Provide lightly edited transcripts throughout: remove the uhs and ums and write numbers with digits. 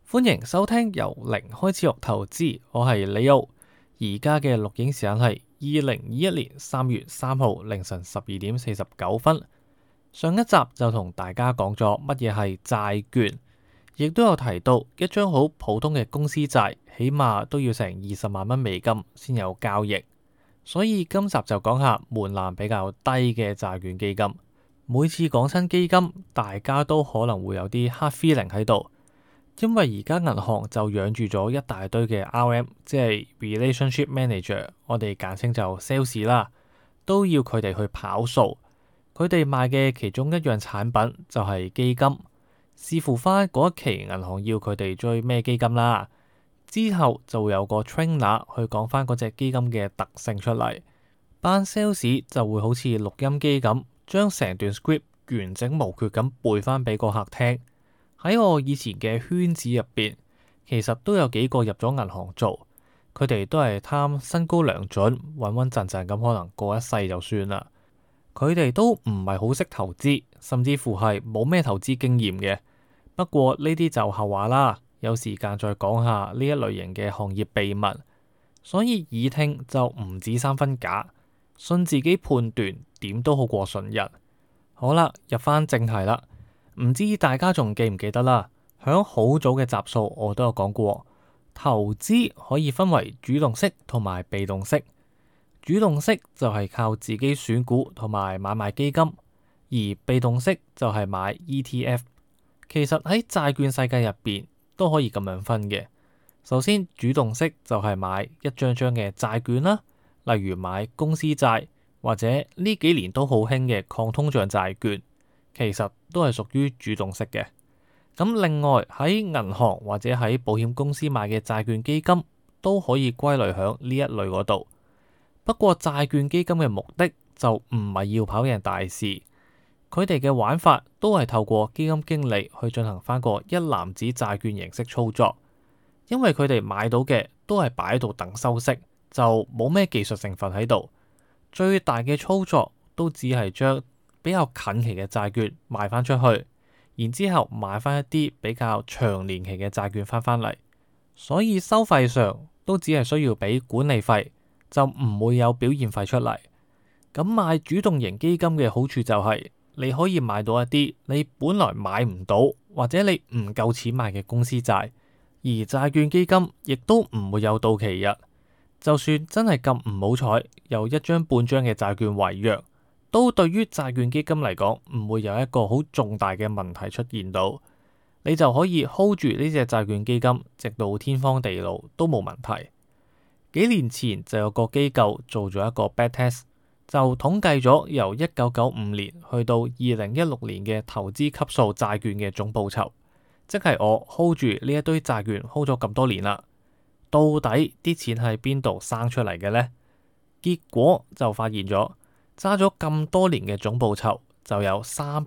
歡迎收聽由零開始學投資，我係李奧。而家嘅錄影時間係2021年3月3號凌晨12點49分。上一集就同大家講咗乜嘢係債券，亦都有提到一張好普通嘅公司債，起碼都要成20萬蚊美金先有交易。所以今集就講下門檻比較低嘅債券基金。每次講親基金，大家都可能會有啲 hard feeling 喺度。因為而家銀行就養住咗一大堆嘅 RM， 即係 Relationship Manager， 我哋簡稱就 sales 啦，都要佢哋去跑數。佢哋賣嘅其中一樣產品就係基金，視乎翻嗰一期銀行要佢哋追咩基金啦。之後就會有個 trainer 去講翻嗰隻基金嘅特性出嚟，班 sales 就會好似錄音機咁，將成段 script 完整無缺咁背翻俾個客聽。喺我以前嘅圈子入邊，其實都有幾個入咗銀行做，佢哋都係貪薪高糧準，穩穩陣陣咁可能過一世就算啦。佢哋都唔係好識投資，甚至乎係冇咩投資經驗嘅。不過呢啲就後話啦，有時間再講下呢一類型嘅行業秘密。所以耳聽就唔止3分假，信自己判斷點都好過信人。好啦，入翻正題啦。唔知大家仲記唔記得啦？響好早嘅集數我都有講過，投資可以分為主動式同埋被動式。主動式就係靠自己選股同埋買賣基金，而被動式就係買 ETF。其實喺債券世界入邊都可以咁樣分嘅。首先，主動式就係買一張張嘅債券啦，例如買公司債或者呢幾年都好興嘅抗通脹債券。其實都係屬於主動式嘅。咁另外喺銀行或者喺保險公司買嘅債券基金都可以歸類響呢一類嗰度。不過債券基金嘅目的就唔係要跑贏大市，佢哋嘅玩法都係透過基金經理去進行翻個一籃子債券形式操作。因為佢哋買到嘅都係擺喺度等收息，就冇咩技術成分喺度。最大嘅操作都只係將比較近期嘅債券賣翻出去，然之後買翻一啲比較長年期嘅債券翻嚟，所以收費上都只係需要俾管理費，就唔會有表現費出嚟。咁買主動型基金嘅好處就係你可以買到一啲你本來買唔到或者你唔夠錢買嘅公司債，而債券基金亦都唔會有到期日。就算真係咁唔好彩，有一張半張嘅債券違約，都對於債券基金嚟講唔會有一個好重大嘅問題出現到，你就可以 hold 住呢隻債券基金，直到天荒地老都冇問題。幾年前就有個機構做咗一個 backtest， 就統計咗由1995年去到2016年嘅投資級數債券嘅總報酬，即係我 hold 住呢一堆債券 hold 咗咁多年啦，到底啲錢喺邊度生出嚟嘅呢？結果就發現咗，揸咗咁多年嘅總報酬就有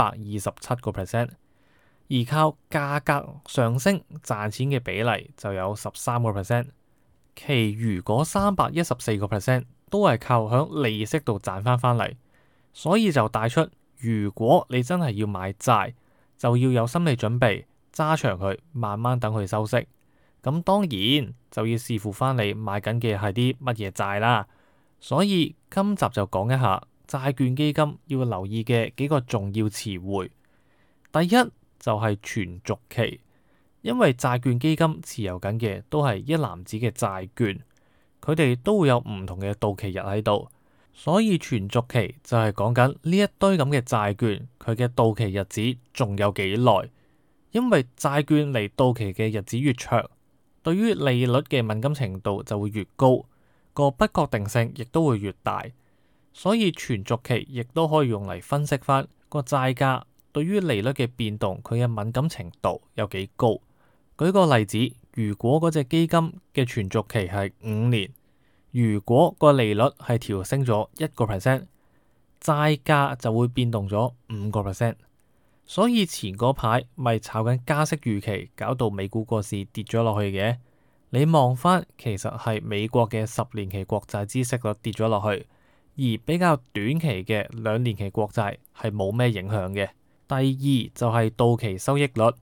327%，而靠價格上升賺錢嘅比例就有13%，其餘嗰314%都係靠響利息度賺翻嚟。所以就帶出，如果你真係要買債，就要有心理準備，揸長佢，慢慢等佢收息。咁當然就要視乎翻你買緊嘅係啲乜嘢債啦。所以今集就講一下債券基金要留意嘅幾個重要詞彙。第一就係存續期，因為債券基金持有緊嘅都係一籃子嘅債券，佢哋都會有唔同嘅到期日喺度，所以存續期就係講緊呢一堆咁嘅債券，佢嘅到期日子仲有幾耐。因為債券離到期嘅日子越長，對於利率嘅敏感程度就會越高，個不確定性亦都會越大，所以存續期亦都可以用嚟分析翻個債價對於利率嘅變動，佢嘅敏感程度有幾高。舉個例子，如果嗰隻基金嘅存續期係5年，如果個利率係調升咗1%，債價就會變動咗5%。所以前嗰排咪炒緊加息預期，搞到美股個市跌咗落去嘅。你望翻，其實係美國嘅10年期國債孳息率跌咗落去，而比較短期嘅2年期國債係冇咩影響嘅。第二就係到期收益率，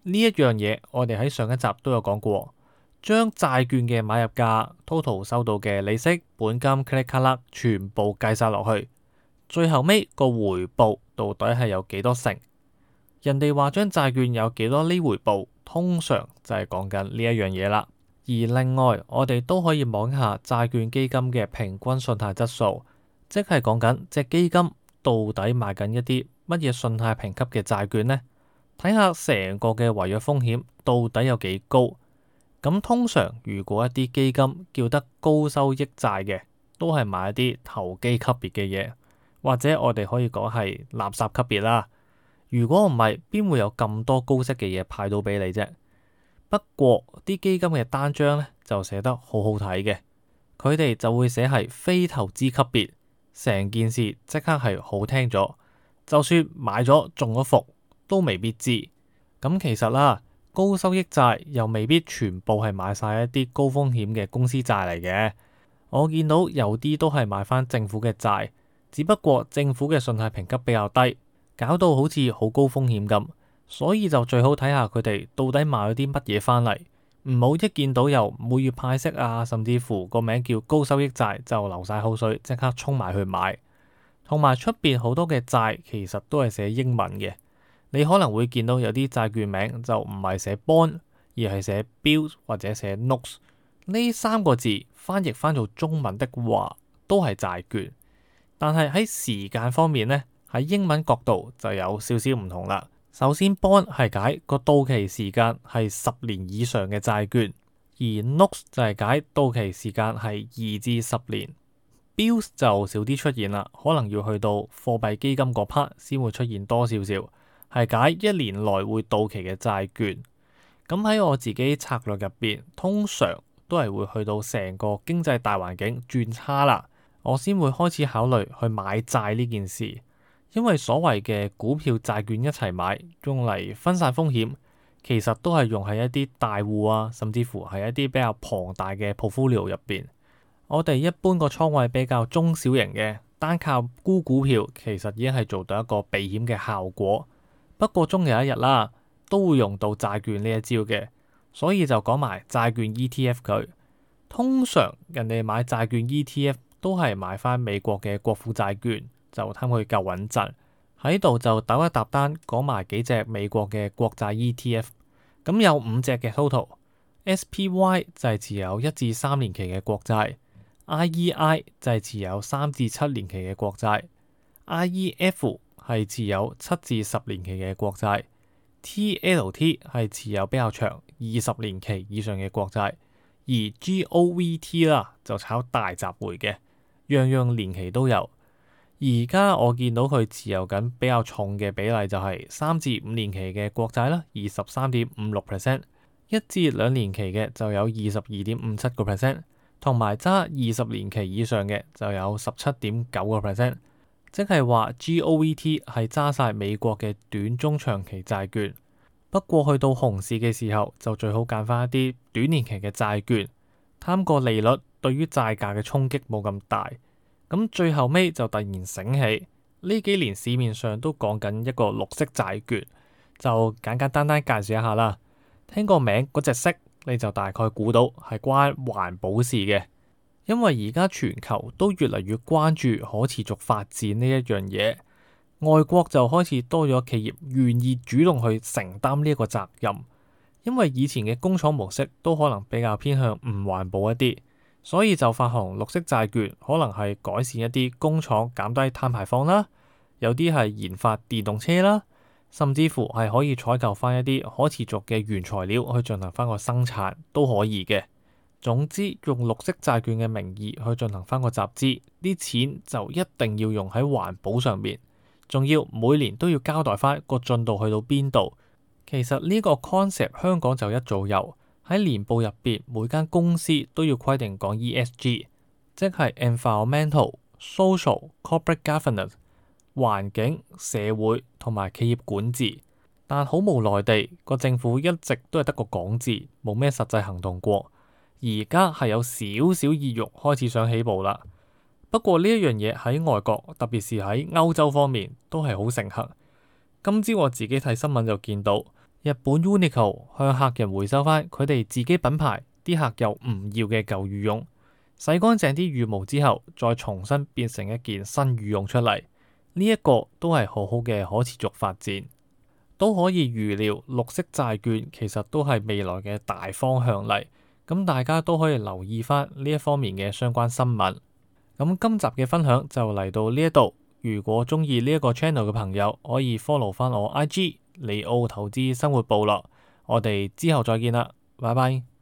呢一樣嘢我哋喺上一集都有講過，將債券嘅買入價、total 收到嘅利息、本金、click 卡啦，全部計晒落去，最後尾個回報到底係有幾多成？人哋話將債券有幾多厘回報，通常就係講緊呢一樣嘢啦。而另外，我哋都可以望一下債券基金嘅平均信貸質素，即係講緊隻基金到底買緊一啲乜嘢信貸評級嘅債券呢？睇下成個嘅違約風險到底有幾高。咁通常如果一啲基金叫得高收益債嘅，都係買一啲投機級別嘅嘢，或者我哋可以講係垃圾級別啦。如果唔係，邊會有咁多高息嘅嘢派到俾你啫？不過啲基金嘅單張咧就寫得好好睇嘅，佢哋就會寫係非投資級別，成件事即刻係好聽咗。就算買咗中咗伏，都未必知。咁其實啦，高收益債又未必全部係買晒一啲高風險嘅公司債嚟嘅。我見到有啲都係買翻政府嘅債，只不過政府嘅信貸評級比較低，搞到好似好高風險咁。所以就最好睇下佢哋到底買咗啲乜嘢翻嚟，唔好一見到又每月派息啊，甚至乎個名叫高收益債就流晒口水，即刻衝埋去買。同埋出邊好多嘅債其實都係寫英文嘅，你可能會見到有啲債券名就唔係寫 bond， 而係寫 bills 或者寫 notes。呢三個字翻譯翻做中文的話都係債券，但係喺時間方面呢，喺英文角度就有少少唔同啦。首先 bond 係解個到期時間係10年以上嘅債券，而 notes 就係解到期時間係2至10年。Bills 就少啲出現啦，可能要去到貨幣基金嗰 part 先會出現多少少，係解1年內會到期嘅債券。咁喺我自己策略入邊，通常都係會去到成個經濟大環境轉差啦，我先會開始考慮去買債呢件事。因為所謂嘅股票債券一齊買，用嚟分散風險，其實都係用喺一啲大戶啊，甚至乎係一啲比較龐大嘅 portfolio 入邊。我哋一般個倉位比較中小型嘅，單靠沽股票其實已經係做到一個避險嘅效果。不過終有一日啦，都會用到債券呢一招嘅，所以就講埋債券 ETF 佢。通常人哋買債券 ETF 都係買翻美國嘅國庫債券，就貪佢夠穩陣。喺度就揼一揼單，講埋幾隻美國嘅國債 ETF。咁有5隻嘅 total。SPY 就係持有1至3年期嘅國債。IEI 就係持有3至7年期嘅國債。IEF 係持有7至10年期嘅國債。TLT 係持有比較長20年期以上嘅國債。而 GOVT 啦就炒大集回嘅，樣樣年期都有。而家我見到佢持有緊比較重嘅比例就係3至5年期嘅國債啦，23.56%； 1至2年期嘅就有22.57%，同埋揸20年期以上嘅就有17.9%。即係話 GOVT 係揸晒美國嘅短中長期債券。不過去到熊市嘅時候，就最好揀翻一啲短年期嘅債券，貪個利率對於債價嘅衝擊冇咁大。咁最後尾就突然醒起，呢幾年市面上都講緊一個綠色債券，就簡簡單單介紹一下啦。聽個名嗰隻色，你就大概估到係關環保事嘅。因為而家全球都越嚟越關注可持續發展呢一樣嘢，外國就開始多咗企業願意主動去承擔呢一個責任。因為以前嘅工廠模式都可能比較偏向唔環保一啲，所以就發行綠色債券，可能係改善一啲工廠減低碳排放啦，有啲係研發電動車啦，甚至乎係可以採購翻一啲可持續嘅原材料去進行翻個生產都可以嘅。總之，用綠色債券嘅名義去進行翻個集資，啲錢就一定要用喺環保上面，仲要每年都要交代翻個進度去到邊度。其實呢個 concept 香港就一早有，喺年報入邊，每間公司都要規定講 ESG， 即係 environmental、social、corporate governance， 環境、社會同埋企業管治。但好無奈地，個政府一直都係得個講字，冇咩實際行動過。而家係有少少意欲開始想起步啦。不過呢一樣嘢喺外國，特別是喺歐洲方面都係好盛行。今朝我自己睇新聞就見到， 日本 Uniqlo 向客人回收翻佢哋自己品牌啲客又唔要嘅舊羽絨，洗乾淨啲羽毛之後，再重新變成一件新羽絨出嚟。呢一個都係好好嘅可持續發展，都可以預料綠色債券其實都係未來嘅大方向嚟。咁大家都可以留意翻呢一方面嘅相關新聞。咁今集嘅分享就嚟到呢一度。如果中意呢一個 channel 嘅朋友，可以 follow 翻我 IG 利奧投資生活部落。我哋之後再見啦，拜拜。